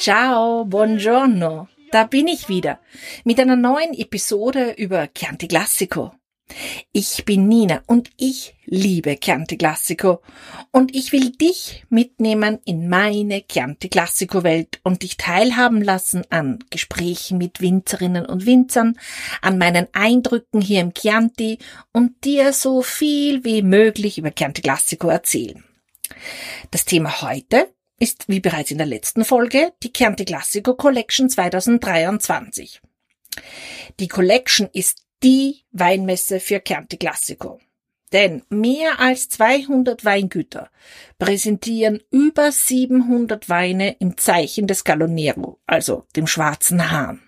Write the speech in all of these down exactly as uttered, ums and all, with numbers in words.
Ciao, buongiorno. Da bin ich wieder mit einer neuen Episode über Chianti Classico. Ich bin Nina und ich liebe Chianti Classico und ich will dich mitnehmen in meine Chianti Classico Welt und dich teilhaben lassen an Gesprächen mit Winzerinnen und Winzern, an meinen Eindrücken hier im Chianti und dir so viel wie möglich über Chianti Classico erzählen. Das Thema heute ist, wie bereits in der letzten Folge, die Chianti Classico Collection zwanzig dreiundzwanzig. Die Collection ist die Weinmesse für Chianti Classico. Denn mehr als zweihundert Weingüter präsentieren über siebenhundert Weine im Zeichen des Gallo Nero, also dem schwarzen Hahn.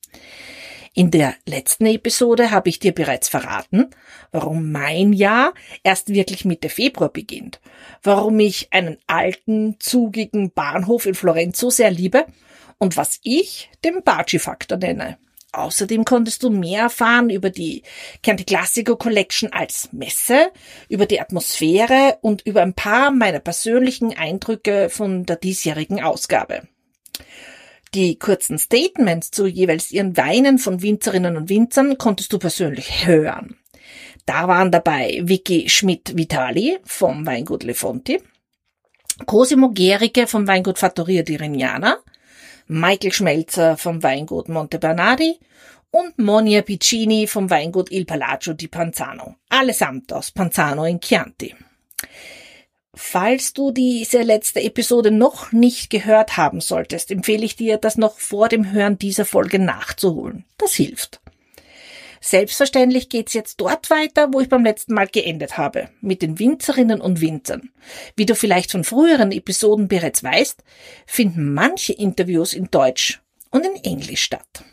In der letzten Episode habe ich dir bereits verraten, warum mein Jahr erst wirklich Mitte Februar beginnt, warum ich einen alten, zugigen Bahnhof in Florenz so sehr liebe und was ich den Baci-Faktor nenne. Außerdem konntest du mehr erfahren über die Chianti Classico Collection als Messe, über die Atmosphäre und über ein paar meiner persönlichen Eindrücke von der diesjährigen Ausgabe. Die kurzen Statements zu jeweils ihren Weinen von Winzerinnen und Winzern konntest du persönlich hören. Da waren dabei Vicky Schmidt-Vitali vom Weingut Le Fonti, Cosimo Gericke vom Weingut Fattoria di Rignana, Michael Schmelzer vom Weingut Monte Bernardi und Monia Piccini vom Weingut Il Palazzo di Panzano, allesamt aus Panzano in Chianti. Falls du diese letzte Episode noch nicht gehört haben solltest, empfehle ich dir, das noch vor dem Hören dieser Folge nachzuholen. Das hilft. Selbstverständlich geht's jetzt dort weiter, wo ich beim letzten Mal geendet habe, mit den Winzerinnen und Winzern. Wie du vielleicht von früheren Episoden bereits weißt, finden manche Interviews in Deutsch und in Englisch statt.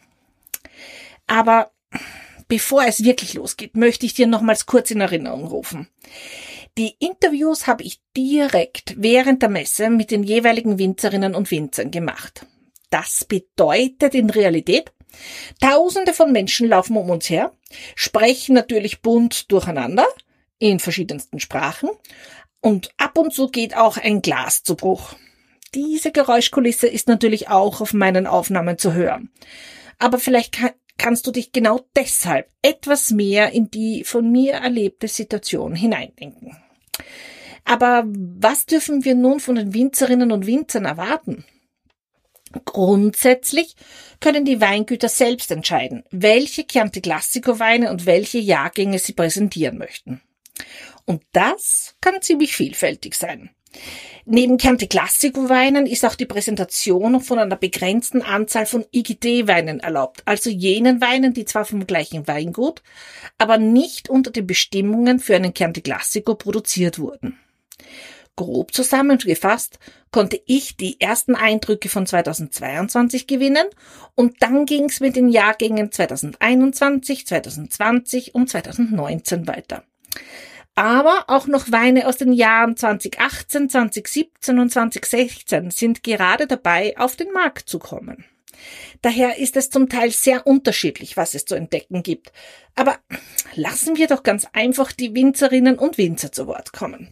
Aber bevor es wirklich losgeht, möchte ich dir nochmals kurz in Erinnerung rufen. Die Interviews habe ich direkt während der Messe mit den jeweiligen Winzerinnen und Winzern gemacht. Das bedeutet in Realität, Tausende von Menschen laufen um uns her, sprechen natürlich bunt durcheinander in verschiedensten Sprachen und ab und zu geht auch ein Glas zu Bruch. Diese Geräuschkulisse ist natürlich auch auf meinen Aufnahmen zu hören. Aber vielleicht kann, kannst du dich genau deshalb etwas mehr in die von mir erlebte Situation hineindenken. Aber was dürfen wir nun von den Winzerinnen und Winzern erwarten? Grundsätzlich können die Weingüter selbst entscheiden, welche Chianti Classico Weine und welche Jahrgänge sie präsentieren möchten. Und das kann ziemlich vielfältig sein. Neben Chianti Classico Weinen ist auch die Präsentation von einer begrenzten Anzahl von I G D-Weinen erlaubt, also jenen Weinen, die zwar vom gleichen Weingut, aber nicht unter den Bestimmungen für einen Chianti Classico produziert wurden. Grob zusammengefasst konnte ich die ersten Eindrücke von zweitausendzweiundzwanzig gewinnen und dann ging es mit den Jahrgängen zweitausendeinundzwanzig, zweitausendzwanzig und zweitausendneunzehn weiter. Aber auch noch Weine aus den Jahren zweitausendachtzehn, zweitausendsiebzehn und zweitausendsechzehn sind gerade dabei, auf den Markt zu kommen. Daher ist es zum Teil sehr unterschiedlich, was es zu entdecken gibt. Aber lassen wir doch ganz einfach die Winzerinnen und Winzer zu Wort kommen.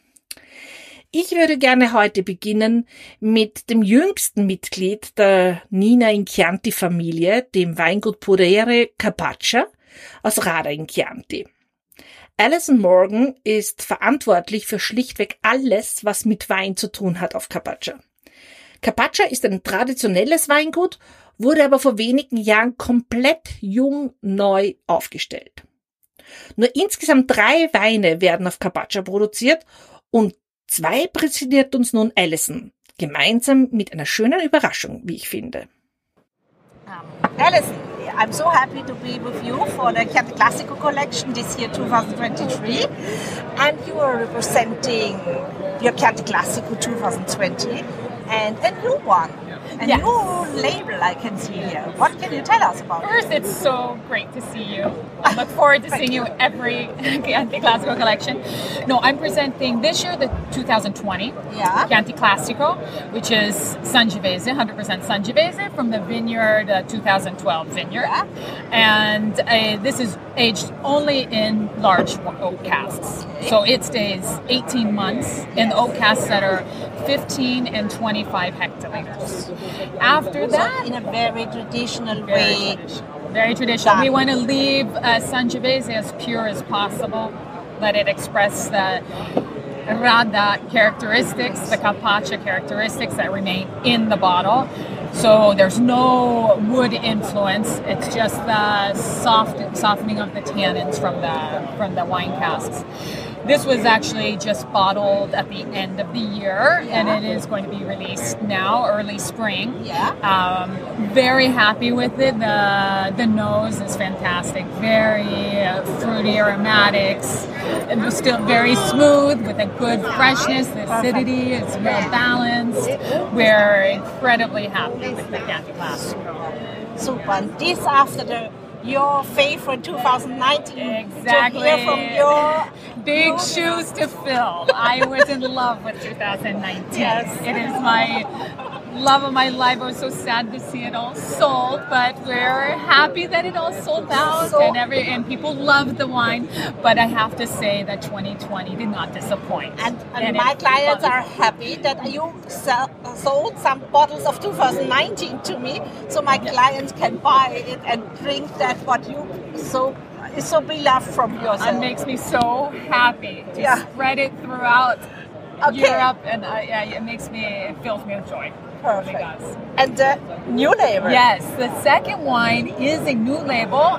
Ich würde gerne heute beginnen mit dem jüngsten Mitglied der Nina in Chianti Familie, dem Weingut Podere Capaccia aus Rada in Chianti. Alison Morgan ist verantwortlich für schlichtweg alles, was mit Wein zu tun hat auf Capaccia. Capaccia ist ein traditionelles Weingut, wurde aber vor wenigen Jahren komplett jung neu aufgestellt. Nur insgesamt drei Weine werden auf Capaccia produziert und zwei präsentiert uns nun Alison, gemeinsam mit einer schönen Überraschung, wie ich finde. Um, Alison, I'm so happy to be with you for the Chianti Classico collection this year twenty twenty-three, and you are representing your Chianti Classico twenty twenty and a new one. A yes. new label I can see here. What can you tell us about it? First, it's so great to see you. I look forward to seeing you every Chianti Classico collection. No, I'm presenting this year the twenty twenty yeah. Chianti Classico, which is Sangiovese, one hundred percent Sangiovese from the vineyard, uh, twenty twelve vineyard. Yeah. And uh, this is aged only in large oak casks. So it stays eighteen months in the oak casks that are fifteen and twenty-five hectoliters. After that, in a very traditional very way. traditional. Very traditional. Done. We want to leave uh, Sangiovese as pure as possible. Let it express the Radda characteristics, the Carpaccia characteristics that remain in the bottle. So there's no wood influence. It's just the soft softening of the tannins from the from the wine casks. This was actually just bottled at the end of the year, Yeah. and it is going to be released now, early spring. Yeah. Um, very happy with it. The the nose is fantastic. Very uh, fruity aromatics. It was still very smooth with a good freshness. The acidity is well balanced. We're incredibly happy with the Chianti Classico. Super. And this after the your favorite twenty nineteen. Exactly. To hear from your Big shoes to fill. I was in love with two thousand nineteen. Yes. It is my love of my life. I was so sad to see it all sold, but we're happy that it all sold out, So- and every and people loved the wine. But I have to say that twenty twenty did not disappoint. And, and, And my it- clients are happy that you sell, sold some bottles of two thousand nineteen to me, so my clients can buy it and drink that what you so is so beloved from yourself. It makes me so happy to Yeah. spread it throughout Okay. Europe, and uh, yeah, it makes me, it fills me with joy. It really Perfect. does. And the new label. Yes, the second wine is a new label,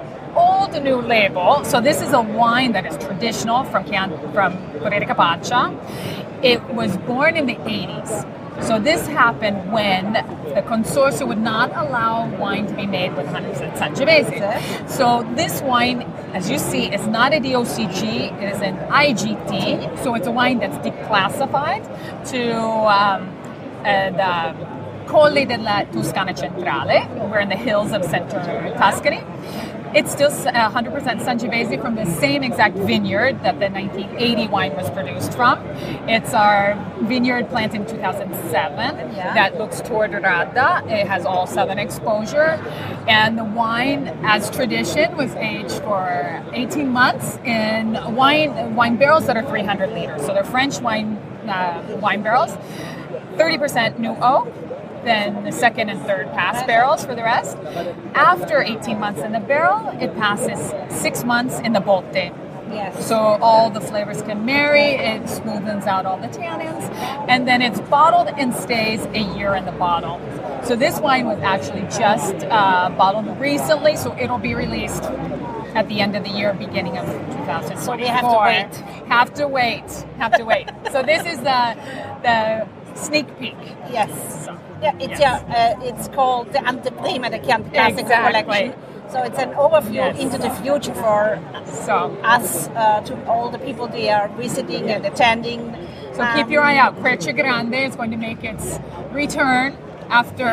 old new label. So this is a wine that is traditional from Chian- from Bodega Carpaccia. It was born in the eighties. So this happened when the consortium would not allow wine to be made with one hundred percent Sangiovese. So this wine, as you see, is not a D O C G, it is an I G T. So it's a wine that's declassified to um, uh, the Colle della Toscana Centrale. We're in the hills of central Tuscany. It's still one hundred percent Sangiovese from the same exact vineyard that the nineteen eighty wine was produced from. It's our vineyard planted in two thousand seven Yeah. that looks toward Radda. It has all southern exposure. And the wine, as tradition, was aged for eighteen months in wine wine barrels that are three hundred liters. So they're French wine uh, wine barrels. thirty percent new oak. Then the second and third pass barrels for the rest. After eighteen months in the barrel, it passes six months in the botte. Yes. So all the flavors can marry, it smoothens out all the tannins, and then it's bottled and stays a year in the bottle. So this wine was actually just uh, bottled recently, so it'll be released at the end of the year, beginning of two thousand twenty-four. So we have to wait. Have to wait. Have to wait. So this is the the sneak peek. Yes. So, Yeah, it's yes. yeah, uh, it's called the Anteprima, the Chianti Classico Exactly. collection. So it's an overview Yes. into the future for So, us, uh, to all the people they are visiting and attending. so Um, keep your eye out. Croce Grande is going to make its return after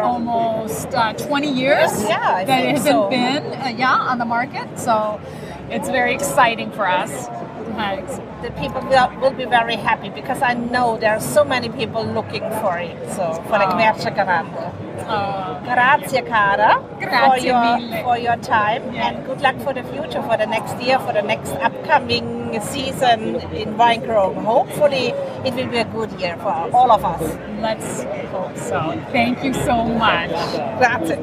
almost uh, twenty years Yeah, I that think it hasn't so. been uh, yeah on the market. So it's very exciting for us. Uh, it's- The people will, will be very happy because I know there are so many people looking for it. So for the Oh. Croce Grande. uh, Grazie, cara, for Grazie your mille. for your time, Yeah. and good luck for the future, for the next year, for the next upcoming season in wine growing. Hopefully, it will be a good year for all of us. let's hope so. Thank you so much. Grazie.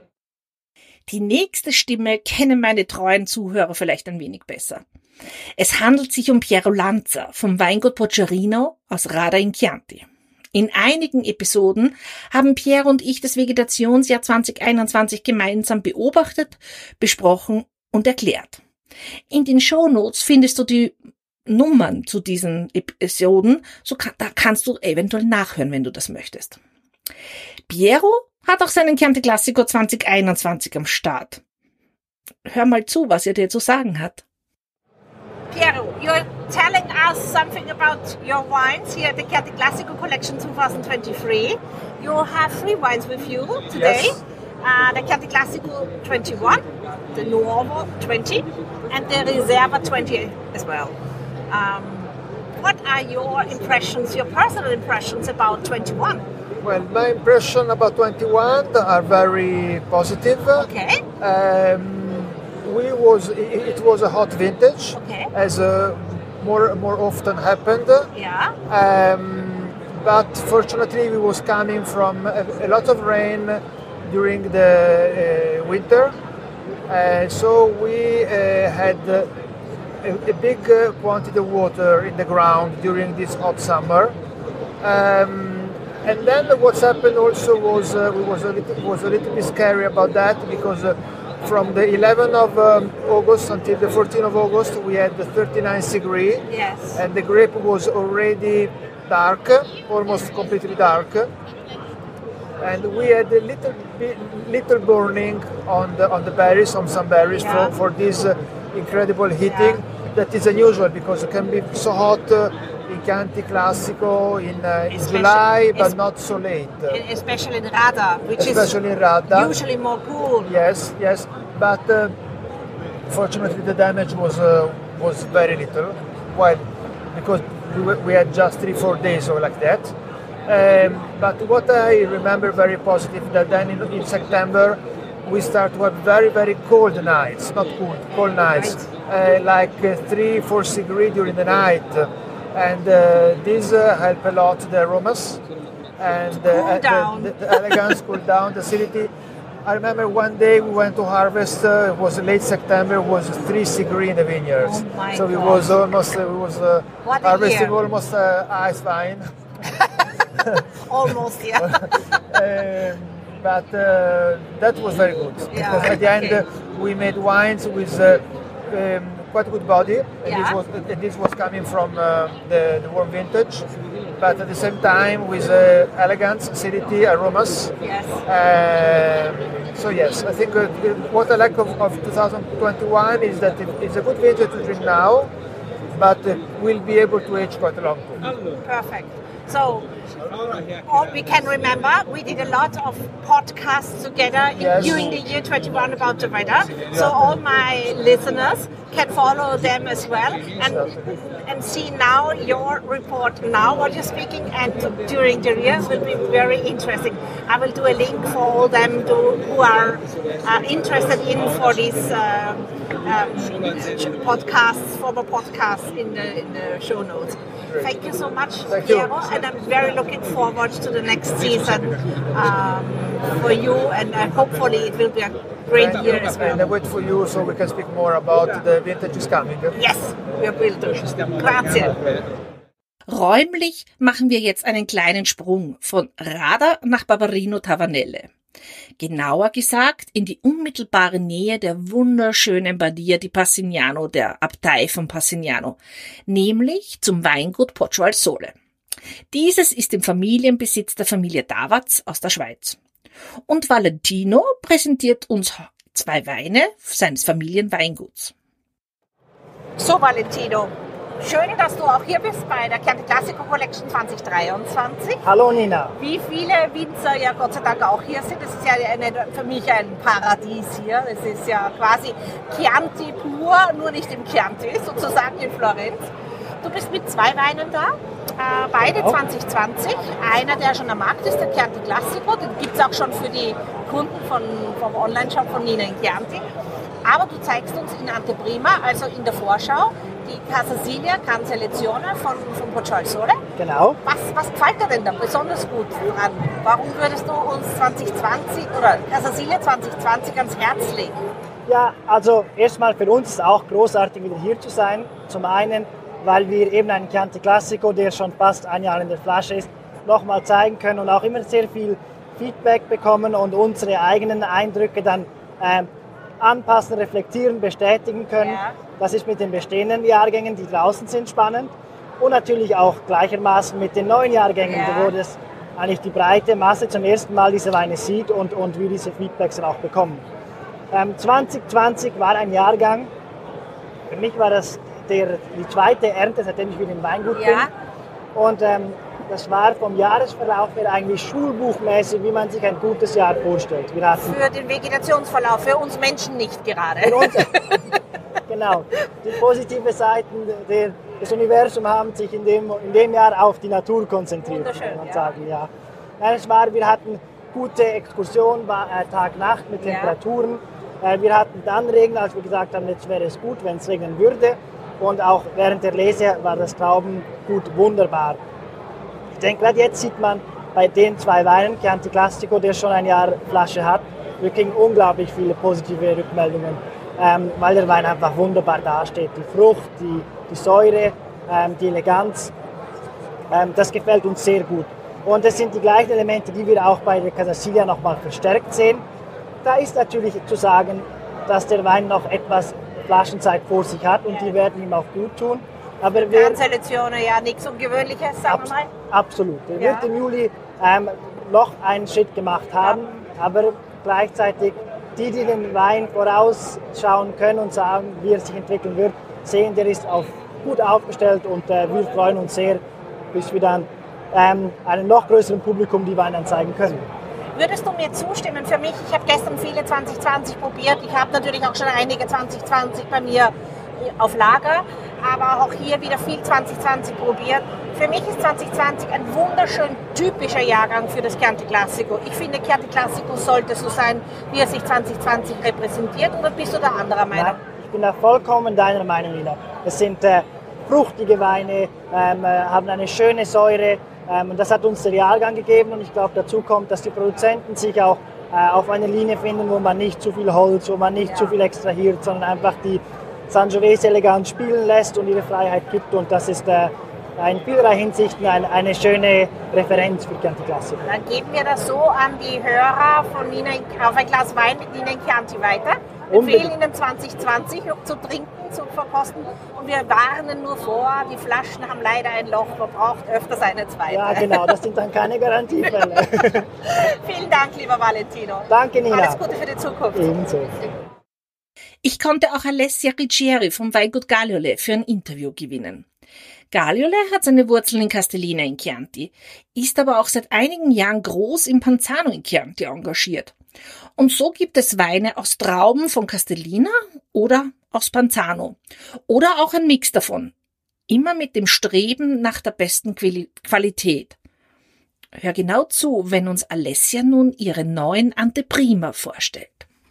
Die nächste Stimme kennen meine treuen Zuhörer vielleicht ein wenig besser. Es handelt sich um Piero Lanza vom Weingut Boccherino aus Radda in Chianti. In einigen Episoden haben Piero und ich das Vegetationsjahr zwanzig einundzwanzig gemeinsam beobachtet, besprochen und erklärt. In den Shownotes findest du die Nummern zu diesen Episoden, so kann, da kannst du eventuell nachhören, wenn du das möchtest. Piero hat auch seinen Chianti Classico zwanzig einundzwanzig am Start. Hör mal zu, was er dir zu sagen hat. Piero, you're telling us something about your wines here at the Chianti Classico Collection twenty twenty-three. You have three wines with you today. Yes. Uh, the Chianti Classico twenty-one, the Nuovo twenty, and the Riserva twenty as well. Um, what are your impressions, your personal impressions about twenty-one? Well, my impression about twenty-one are very positive. Okay. Um, we was it, it was a hot vintage, Okay. as uh, more more often happened. Yeah. Um, but fortunately we was coming from a, a lot of rain during the uh, winter, uh, so we uh, had uh, a, a big uh, quantity of water in the ground during this hot summer. Um, and then what's happened also was uh, we was a little, was a little bit scary about that, because uh, from the eleventh of um, August until the fourteenth of August we had the thirty-nine degree, Yes. and the grape was already dark, almost completely dark, and we had a little bit, little burning on the on the berries, on some berries, Yeah. for, for this uh, incredible heating. Yeah. That is unusual because it can be so hot uh, in Chianti Classico in, uh, in Especially- July, but es- not so late. Especially in Rada, which Especially is in Radda. usually more cool. Yes, yes, but uh, fortunately the damage was uh, was very little. Why? Because we, were- we had just three, four days or like that. Um, but what I remember very positive that then in, in September we start to have very, very cold nights, not cool, cold nights, uh, like uh, three, four degree during the night, and uh, this uh, help a lot the aromas and uh, Cool uh, down. the, the, the elegance, cool down the acidity. I remember one day we went to harvest. Uh, it was late September. It was three degree in the vineyards, Oh my so it God. was almost uh, it was uh, What a harvesting year. almost uh, ice wine. Almost, yeah. um, but uh, that was very good, Yeah, because at the end okay. uh, we made wines with uh, um, quite good body, and Yeah. this was and this was coming from uh, the, the warm vintage, but at the same time with uh, elegance, acidity, aromas. Yes. Um, so yes, I think uh, what I like of, of twenty twenty-one is that it, it's a good vintage to drink now, but uh, we'll be able to age quite a long time. Perfect. So, all we can remember, we did a lot of podcasts together in, Yes. during the year twenty-one about the weather. So all my listeners can follow them as well and and see now your report now what you're speaking, and during the year will be very interesting. I will do a link for all them to, who are uh, interested in for these um, um, podcasts, former podcasts in the in the show notes. Thank you so much, Thank you. Piero, and I'm very looking forward to the next season um, for you, and uh, hopefully it will be a great And, year as and I well. wait for you so we can speak more about the vintages coming. Yes, we will do. Grazie. Räumlich machen wir jetzt einen kleinen Sprung von Rada nach Barberino Tavanelle. Genauer gesagt in die unmittelbare Nähe der wunderschönen Badia di Passignano, der Abtei von Passignano, nämlich zum Weingut Poggio al Sole. Dieses ist im Familienbesitz der Familie Davatz aus der Schweiz. Und Valentino präsentiert uns zwei Weine seines Familienweinguts. So, Valentino, schön, dass du auch hier bist bei der Chianti Classico Collection zwanzig dreiundzwanzig. Hallo Nina. Wie viele Winzer ja Gott sei Dank auch hier sind. Das ist ja eine, für mich ein Paradies hier. Es ist ja quasi Chianti pur, nur nicht im Chianti, sozusagen in Florenz. Du bist mit zwei Weinen da, äh, beide Genau. zwanzig zwanzig. Einer, der schon am Markt ist, der Chianti Classico. Den gibt es auch schon für die Kunden von, vom Online-Shop von Nina in Chianti. Aber du zeigst uns in Anteprima, also in der Vorschau, die Casa Silja Gran Selezione von, von Poggio al Sole. Genau. Was, was gefällt dir denn da besonders gut dran? Warum würdest du uns zwanzig zwanzig oder Casa Silja zwanzig zwanzig ans Herz legen? Ja, also erstmal für uns ist es auch großartig, wieder hier zu sein. Zum einen, weil wir eben einen Chianti Classico, der schon fast ein Jahr in der Flasche ist, nochmal zeigen können und auch immer sehr viel Feedback bekommen und unsere eigenen Eindrücke dann ähm, anpassen, reflektieren, bestätigen können. Ja. Das ist mit den bestehenden Jahrgängen, die draußen sind, spannend. Und natürlich auch gleichermaßen mit den neuen Jahrgängen, Ja. wo das eigentlich die breite Masse zum ersten Mal diese Weine sieht und, und wir diese Feedbacks dann auch bekommen. Ähm, zwanzig zwanzig war ein Jahrgang, für mich war das der, die zweite Ernte, seitdem ich wieder im Weingut Ja. bin. Und ähm, das war vom Jahresverlauf her eigentlich schulbuchmäßig, wie man sich ein gutes Jahr vorstellt. Wir hatten Für den Vegetationsverlauf, für uns Menschen nicht gerade. für uns, genau, die positive Seiten der, des Universums haben sich in dem, in dem Jahr auf die Natur konzentriert, Wunderschön, kann man ja. sagen. Ja. Nein, es war, wir hatten gute Exkursion, war, äh, Tag-Nacht mit Ja. Temperaturen. Äh, wir hatten dann Regen, als wir gesagt haben, jetzt wäre es gut, wenn es regnen würde. Und auch während der Lese war das Traubengut wunderbar. Die denke, gerade jetzt sieht man bei den zwei Weinen, Chianti Classico, der schon ein Jahr Flasche hat, wir kriegen unglaublich viele positive Rückmeldungen, ähm, weil der Wein einfach wunderbar dasteht. Die Frucht, die, die Säure, ähm, die Eleganz, ähm, das gefällt uns sehr gut. Und das sind die gleichen Elemente, die wir auch bei der Casa Siglia nochmal verstärkt sehen. Da ist natürlich zu sagen, dass der Wein noch etwas Flaschenzeit vor sich hat und die werden ihm auch gut tun. Aber wir, Selezione, ja, nichts Ungewöhnliches, sagen wir mal. Absolut. Er ja. wird im Juli ähm, noch einen Schritt gemacht haben, ja. aber gleichzeitig die, die den Wein vorausschauen können und sagen, wie er sich entwickeln wird, sehen, der ist auf, gut aufgestellt und äh, wir freuen uns sehr, bis wir dann ähm, einem noch größeren Publikum die Weine zeigen können. Würdest du mir zustimmen? Für mich, ich habe gestern viele zwanzig zwanzig probiert. Ich habe natürlich auch schon einige zwanzig zwanzig bei mir auf Lager, aber auch hier wieder viel zwanzig zwanzig probiert. Für mich ist zwanzig zwanzig ein wunderschön typischer Jahrgang für das Chianti Classico. Ich finde, Chianti Classico sollte so sein, wie er sich zwanzig zwanzig repräsentiert. Oder bist du da anderer Meinung? Nein, ich bin da vollkommen deiner Meinung, Nina. Es sind äh, fruchtige Weine, ähm, äh, haben eine schöne Säure. Ähm, und das hat uns der Jahrgang gegeben und ich glaube, dazu kommt, dass die Produzenten sich auch äh, auf eine Linie finden, wo man nicht zu viel Holz, wo man nicht ja. zu viel extrahiert, sondern einfach die Sangiovese elegant spielen lässt und ihre Freiheit gibt. Und das ist äh, in vielerlei Hinsichten eine, eine schöne Referenz für Chianti Classico. Dann geben wir das so an die Hörer von Nina auf ein Glas Wein mit Nina in Chianti weiter. Wir empfehlen Ihnen zwanzig zwanzig zu trinken, zu verkosten und wir warnen nur vor, die Flaschen haben leider ein Loch, man braucht öfters eine zweite. Ja genau, das sind dann keine Garantiefälle. Vielen Dank, lieber Valentino. Danke, Nina. Alles Gute für die Zukunft. Ebenso. Ich konnte auch Alessia Riccieri vom Weingut Galiole für ein Interview gewinnen. Galiole hat seine Wurzeln in Castellina in Chianti, ist aber auch seit einigen Jahren groß im Panzano in Chianti engagiert. Und so gibt es Weine aus Trauben von Castellina oder aus Panzano oder auch ein Mix davon. Immer mit dem Streben nach der besten Qualität. Hör genau zu, wenn uns Alessia nun ihre neuen Anteprima vorstellt.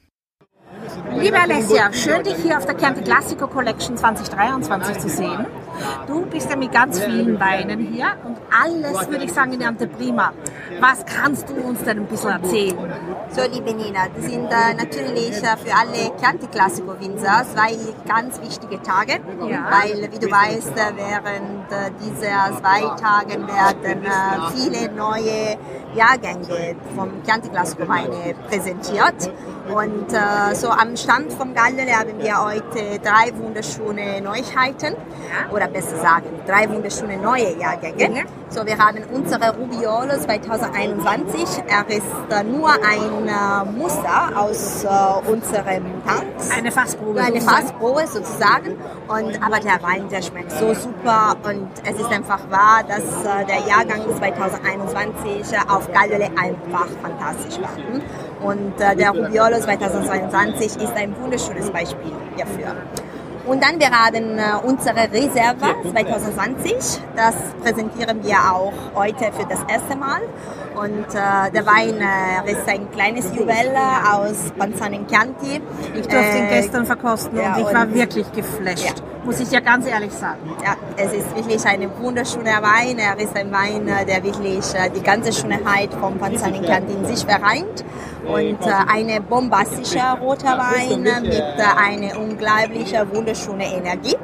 Liebe Alessia, schön dich hier auf der Chianti Classico Collection zwanzig dreiundzwanzig zu sehen. Du bist ja mit ganz vielen Weinen hier und alles, würde ich sagen, in der Anteprima. Was kannst du uns denn ein bisschen erzählen? So, liebe Nina, das sind äh, natürlich äh, für alle Chianti Classico Winzer zwei ganz wichtige Tage, ja. weil, wie du weißt, äh, während äh, dieser zwei Tagen werden äh, viele neue Jahrgänge vom Chianti Classico Weine präsentiert. Und äh, so am Stand vom Galiole haben wir heute drei wunderschöne Neuigkeiten, ja. oder besser sagen, drei wunderschöne neue Jahrgänge. Ja. So, wir haben unsere Rubiolo zwanzig einundzwanzig. Er ist äh, nur ein äh, Muster aus äh, unserem Tank. Eine Fassprobe. Eine Fassprobe sozusagen. Und, aber der Wein, der schmeckt so super und es ist einfach wahr, dass äh, der Jahrgang zwanzig einundzwanzig äh, auf Galiole einfach fantastisch war. Und äh, der Rubiolo zwanzig zweiundzwanzig ist ein wunderschönes Beispiel dafür. Und dann wir haben äh, unsere Reserva zwanzig zwanzig, das präsentieren wir auch heute für das erste Mal. Und äh, der Wein äh, ist ein kleines Juwel aus Panzano in Chianti. Ich durfte äh, ihn gestern verkosten ja, und ich und war wirklich geflasht, ja. muss ich ja ganz ehrlich sagen. Ja, es ist wirklich ein wunderschöner Wein. Er ist ein Wein, der wirklich äh, die ganze Schönheit von Panzano in Chianti in sich vereint. Und äh, eine bombastische roter Wein mit äh, einer unglaublich wunderschönen Energie.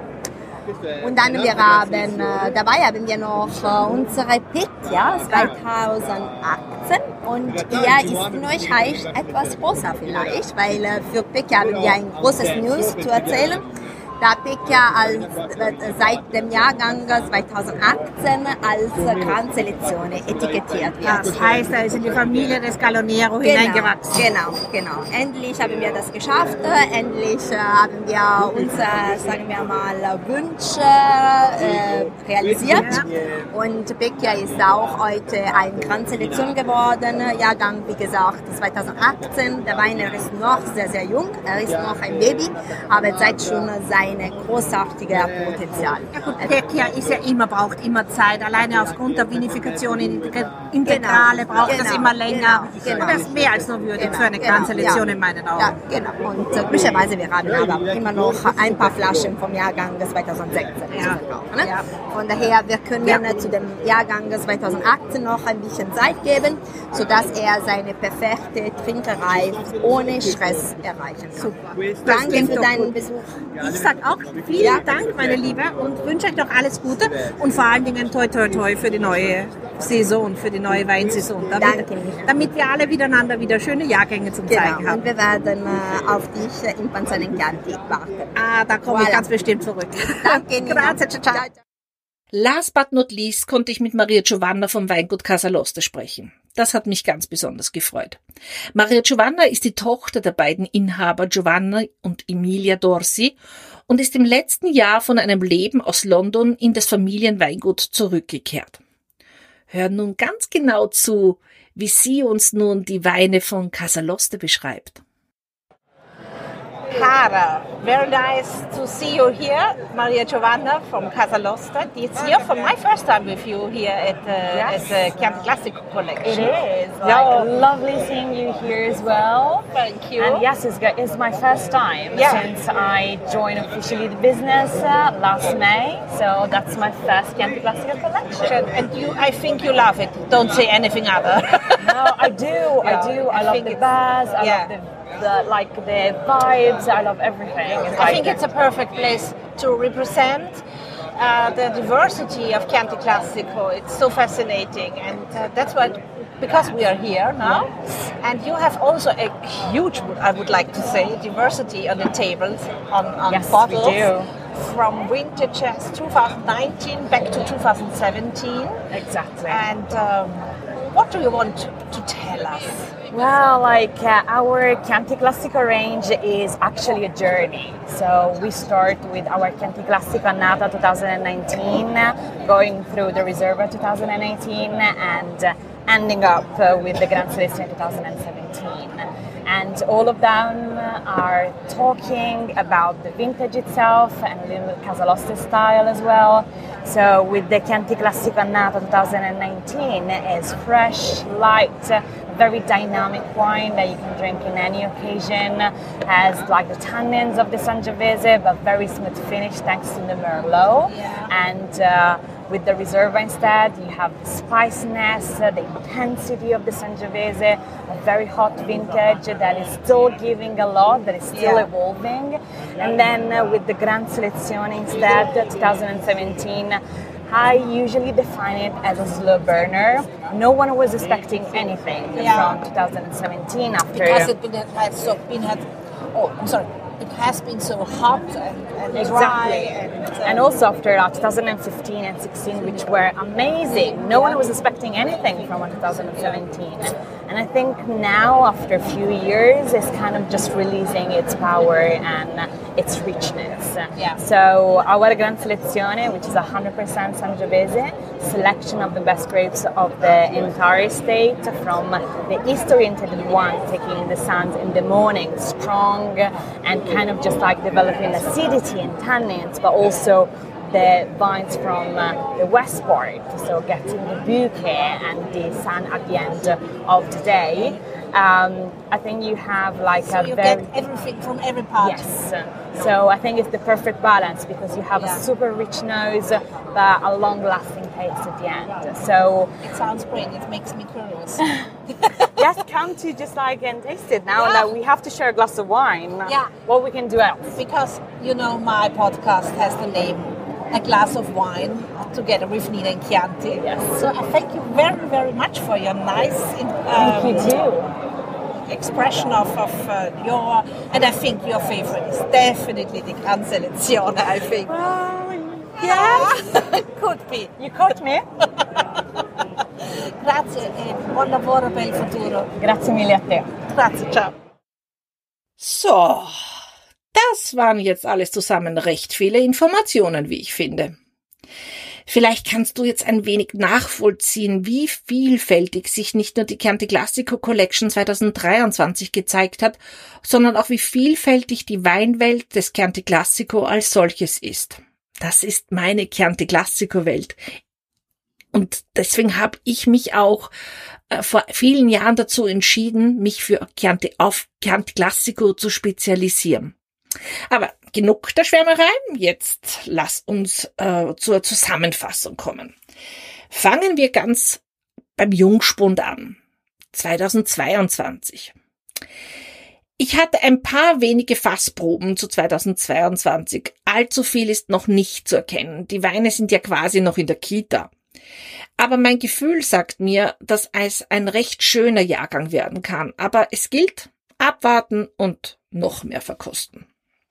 Und dann wir haben, äh, dabei haben wir noch äh, unsere Pecchia zwanzig achtzehn und er ist in euch etwas größer vielleicht, weil äh, für Pecchia haben wir ein großes News zu erzählen. Da Pecchia als, äh, seit dem Jahrgang zwanzig achtzehn als Gran Selezione etikettiert wird. Das heißt, er ist in die Familie des Galonero genau, hineingewachsen. Genau, genau. Endlich haben wir das geschafft. Endlich äh, haben wir unsere, sagen wir mal, Wünsche äh, realisiert. Ja. Und Pecchia ist auch heute ein Gran Selezione geworden. Jahrgang, wie gesagt, zwanzig achtzehn. Der Wein ist noch sehr, sehr jung. Er ist noch ein Baby, aber seit schon sein ein großartiges Potenzial. Ja gut, Tequila ist ja immer, braucht immer Zeit. Alleine aufgrund der Vinifikation in Integrale genau, braucht genau, das immer länger. Genau, Und das ist mehr als nur würdig genau, für eine genau, Kernselektion ja, in meinen Augen. Ja, genau. Und äh, glücklicherweise, wir haben aber immer noch ein paar Flaschen vom Jahrgang zweitausendsechzehn Ja. zu verkaufen. Ne? Ja. Von daher, wir können Ja. äh, zu dem Jahrgang zweitausendachtzehn noch ein bisschen Zeit geben, sodass er seine perfekte Trinkerei ohne Stress erreichen kann. Super. Danke für deinen Besuch. Ich sage auch vielen Ja. Dank, meine Liebe, und wünsche euch noch alles Gute und vor allen Dingen toi toi toi für die neue Saison, für die neue Weinsaison. Damit, Danke, Micha. damit wir alle miteinander wieder schöne Jahrgänge zum Genau. Zeigen haben. Und wir werden äh, auf dich äh, in Panzanenchianti warten. Ah, da komme ich Voilà. ganz bestimmt zurück. Danke, Nina. Grazie, ciao, ciao. Ciao, ciao. Last but not least konnte ich mit Maria Giovanna vom Weingut Casaloste sprechen. Das hat mich ganz besonders gefreut. Maria Giovanna ist die Tochter der beiden Inhaber Giovanna und Emilia Dorsi und ist im letzten Jahr von einem Leben aus London in das Familienweingut zurückgekehrt. Hör nun ganz genau zu, wie sie uns nun die Weine von Casaloste beschreibt. Cara, very nice to see you here, Maria Giovanna from Casaloste. It's here for my first time with you here at the, Yes. at the Chianti Classico It collection. is. Like, Yeah. lovely seeing you here as well. Thank you. And yes, it's, go- it's my first time Yeah. since I joined officially the business uh, last May. So that's my first Chianti Classico collection. And you, I think you love it. Don't say anything other. No, I do. Yeah, I do. I I, love think the it's- bars. I yeah. love the, the like the vibes. I love everything. It's I like think it's a perfect place to represent uh, the diversity of Chianti Classico. It's so fascinating, and uh, that's what, because we are here now, and you have also a huge, I would like to say, diversity on the tables, on, on Yes, we bottles. do. From vintages twenty nineteen back to twenty seventeen. exactly. And um, what do you want to tell us? Well, like uh, our Chianti Classico range is actually a journey. So we start with our Chianti Classico Annata twenty nineteen, going through the Riserva twenty eighteen, and uh, ending up uh, with the Gran Selezione twenty seventeen. And all of them are talking about the vintage itself and a little Casaloste style as well. So with the Chianti Classico Annata twenty nineteen, is fresh, light, very dynamic wine that you can drink in any occasion. Has like the tannins of the Sangiovese, but very smooth finish thanks to the Merlot. Yeah. And uh, with the Riserva instead, you have the spiciness, uh, the intensity of the Sangiovese, a very hot vintage that is still giving a lot, that is still Yeah. evolving. And then uh, with the Gran Selezione instead, twenty seventeen, I usually define it as a slow burner. No one was expecting anything Yeah. from twenty seventeen after. Because it been, has so been had, oh, I'm sorry, it has been so hot and, and dry. Exactly. And, uh, And also after uh, twenty fifteen and sixteen, which were amazing. No one was expecting anything from twenty seventeen. And I think now, after a few years, it's kind of just releasing its power and its richness. Yeah. So our Gran Selezione, which is one hundred percent Sangiovese, selection of the best grapes of the entire estate, from the east-oriented one, taking the suns in the morning, strong, and kind of just like developing acidity and tannins, but also the vines from uh, the west part, so getting the bouquet and the sun at the end of the day. Um, I think you have like so a you very get everything from every part. yes. So I think it's the perfect balance because you have Yeah. a super rich nose, but a long-lasting taste at the end. So It sounds great. It makes me curious. yes, come to just like and taste it now Yeah. that we have to share a glass of wine. Yeah. What we can do else? Because, you know, my podcast has the name A Glass of Wine together with Nina and Chianti. Yes. So I thank you very, very much for your nice um, You do. expression of, of uh, your, and I think your favorite is definitely the Gran Selezione, I think. Yeah, could be. You caught me. Grazie e buon lavoro per il futuro. Grazie mille a te. Grazie, ciao. So, das waren jetzt alles zusammen recht viele Informationen, wie ich finde. Vielleicht kannst du jetzt ein wenig nachvollziehen, wie vielfältig sich nicht nur die Chianti Classico Collection zwanzig dreiundzwanzig gezeigt hat, sondern auch wie vielfältig die Weinwelt des Chianti Classico als solches ist. Das ist meine Chianti Classico Welt. Und deswegen habe ich mich auch äh, vor vielen Jahren dazu entschieden, mich für Chianti, auf Chianti Classico zu spezialisieren. Aber genug der Schwärmerei, jetzt lass uns äh, zur Zusammenfassung kommen. Fangen wir ganz beim Jungspund an, zweitausendzweiundzwanzig. Ich hatte ein paar wenige Fassproben zu zweitausendzweiundzwanzig, allzu viel ist noch nicht zu erkennen, die Weine sind ja quasi noch in der Kita. Aber mein Gefühl sagt mir, dass es ein recht schöner Jahrgang werden kann. Aber es gilt, abwarten und noch mehr verkosten.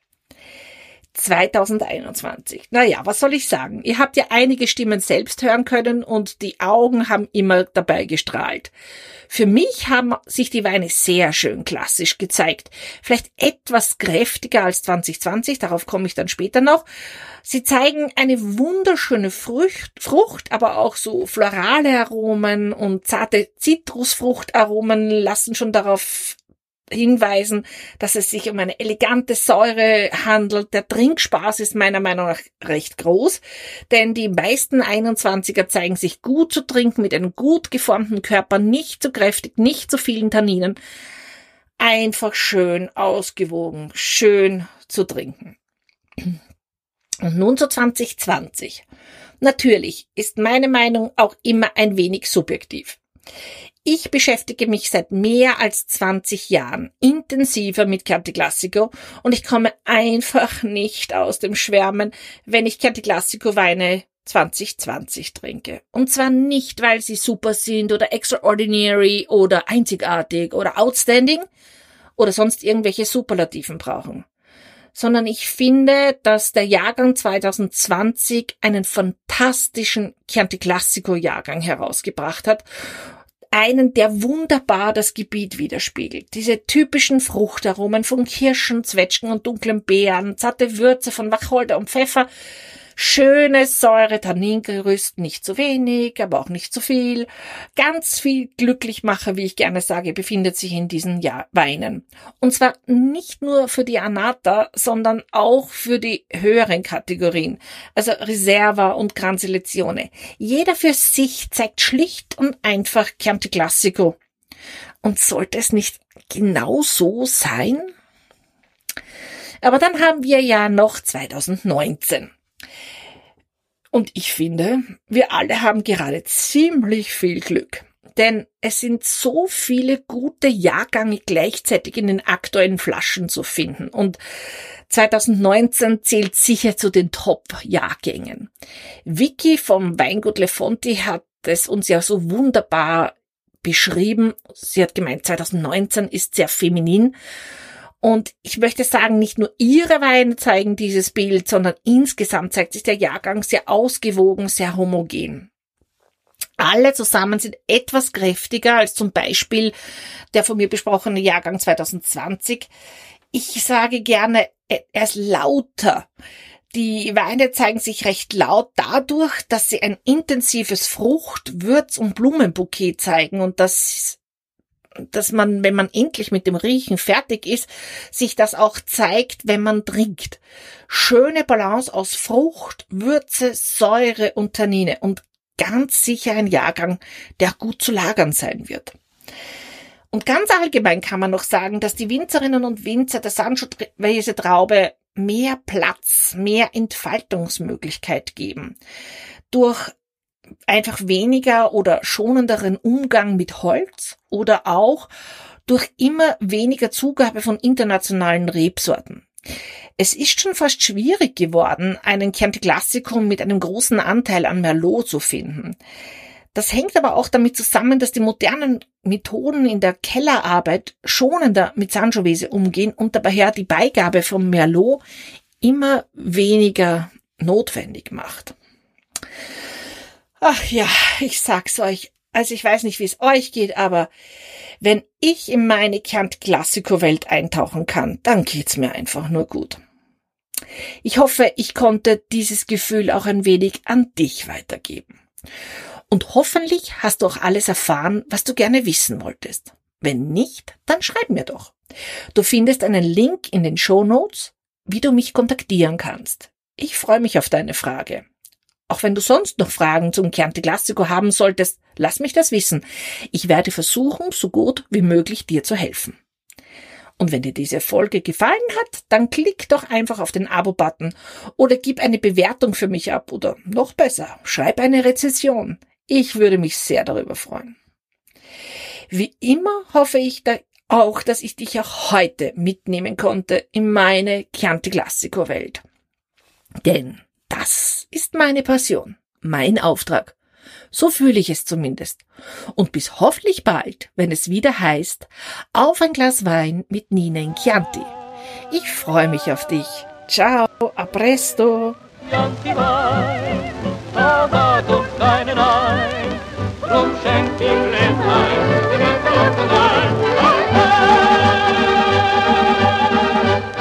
zweitausendeinundzwanzig. Naja, was soll ich sagen? Ihr habt ja einige Stimmen selbst hören können und die Augen haben immer dabei gestrahlt. Für mich haben sich die Weine sehr schön klassisch gezeigt. Vielleicht etwas kräftiger als zwanzig zwanzig, darauf komme ich dann später noch. Sie zeigen eine wunderschöne Frucht, Frucht, aber auch so florale Aromen und zarte Zitrusfruchtaromen lassen schon darauf hinweisen, dass es sich um eine elegante Säure handelt. Der Trinkspaß ist meiner Meinung nach recht groß, denn die meisten einundzwanziger zeigen sich gut zu trinken, mit einem gut geformten Körper, nicht zu kräftig, nicht zu vielen Tanninen. Einfach schön ausgewogen, schön zu trinken. Und nun zu zwanzig zwanzig. Natürlich ist meine Meinung auch immer ein wenig subjektiv. Ich beschäftige mich seit mehr als zwanzig Jahren intensiver mit Chianti Classico und ich komme einfach nicht aus dem Schwärmen, wenn ich Chianti Classico Weine zwanzig zwanzig trinke. Und zwar nicht, weil sie super sind oder extraordinary oder einzigartig oder outstanding oder sonst irgendwelche Superlativen brauchen, sondern ich finde, dass der Jahrgang zwanzig zwanzig einen fantastischen Chianti Classico Jahrgang herausgebracht hat. Einen, der wunderbar das Gebiet widerspiegelt. Diese typischen Fruchtaromen von Kirschen, Zwetschgen und dunklen Beeren, zarte Würze von Wacholder und Pfeffer, schönes Säure, Tanningerüst, nicht zu wenig, aber auch nicht zu viel. Ganz viel Glücklichmacher, wie ich gerne sage, befindet sich in diesen ja- Weinen. Und zwar nicht nur für die Annata, sondern auch für die höheren Kategorien, also Riserva und Gran Selezione. Jeder für sich zeigt schlicht und einfach Chianti Classico. Und sollte es nicht genau so sein? Aber dann haben wir ja noch zweitausendneunzehn. Und ich finde, wir alle haben gerade ziemlich viel Glück. Denn es sind so viele gute Jahrgänge gleichzeitig in den aktuellen Flaschen zu finden. Und zweitausendneunzehn zählt sicher zu den Top-Jahrgängen. Vicky vom Weingut Le Fonti hat es uns ja so wunderbar beschrieben. Sie hat gemeint, zweitausendneunzehn ist sehr feminin. Und ich möchte sagen, nicht nur ihre Weine zeigen dieses Bild, sondern insgesamt zeigt sich der Jahrgang sehr ausgewogen, sehr homogen. Alle zusammen sind etwas kräftiger als zum Beispiel der von mir besprochene Jahrgang zwanzig zwanzig. Ich sage gerne, er ist lauter. Die Weine zeigen sich recht laut dadurch, dass sie ein intensives Frucht-, Würz- und Blumenbouquet zeigen und das dass man, wenn man endlich mit dem Riechen fertig ist, sich das auch zeigt, wenn man trinkt. Schöne Balance aus Frucht, Würze, Säure und Tannine und ganz sicher ein Jahrgang, der gut zu lagern sein wird. Und ganz allgemein kann man noch sagen, dass die Winzerinnen und Winzer der Sangiovese Traube mehr Platz, mehr Entfaltungsmöglichkeit geben. Durch einfach weniger oder schonenderen Umgang mit Holz oder auch durch immer weniger Zugabe von internationalen Rebsorten. Es ist schon fast schwierig geworden, einen Chianti Classico mit einem großen Anteil an Merlot zu finden. Das hängt aber auch damit zusammen, dass die modernen Methoden in der Kellerarbeit schonender mit Sangiovese umgehen und daher die Beigabe von Merlot immer weniger notwendig macht. Ach ja, ich sag's euch, also ich weiß nicht, wie es euch geht, aber wenn ich in meine Chianti Classico Welt eintauchen kann, dann geht's mir einfach nur gut. Ich hoffe, ich konnte dieses Gefühl auch ein wenig an dich weitergeben. Und hoffentlich hast du auch alles erfahren, was du gerne wissen wolltest. Wenn nicht, dann schreib mir doch. Du findest einen Link in den Shownotes, wie du mich kontaktieren kannst. Ich freue mich auf deine Frage. Auch wenn du sonst noch Fragen zum Chianti Classico haben solltest, lass mich das wissen. Ich werde versuchen, so gut wie möglich dir zu helfen. Und wenn dir diese Folge gefallen hat, dann klick doch einfach auf den Abo-Button oder gib eine Bewertung für mich ab oder noch besser, schreib eine Rezension. Ich würde mich sehr darüber freuen. Wie immer hoffe ich da auch, dass ich dich auch heute mitnehmen konnte in meine Chianti Classico Welt. Denn das ist meine Passion, mein Auftrag. So fühle ich es zumindest. Und bis hoffentlich bald, wenn es wieder heißt, auf ein Glas Wein mit Nina in Chianti. Ich freue mich auf dich. Ciao, a presto. Chianti Wein, da hat uns keinen ein, drum schenkt ihm Gläslein, den Gott allein.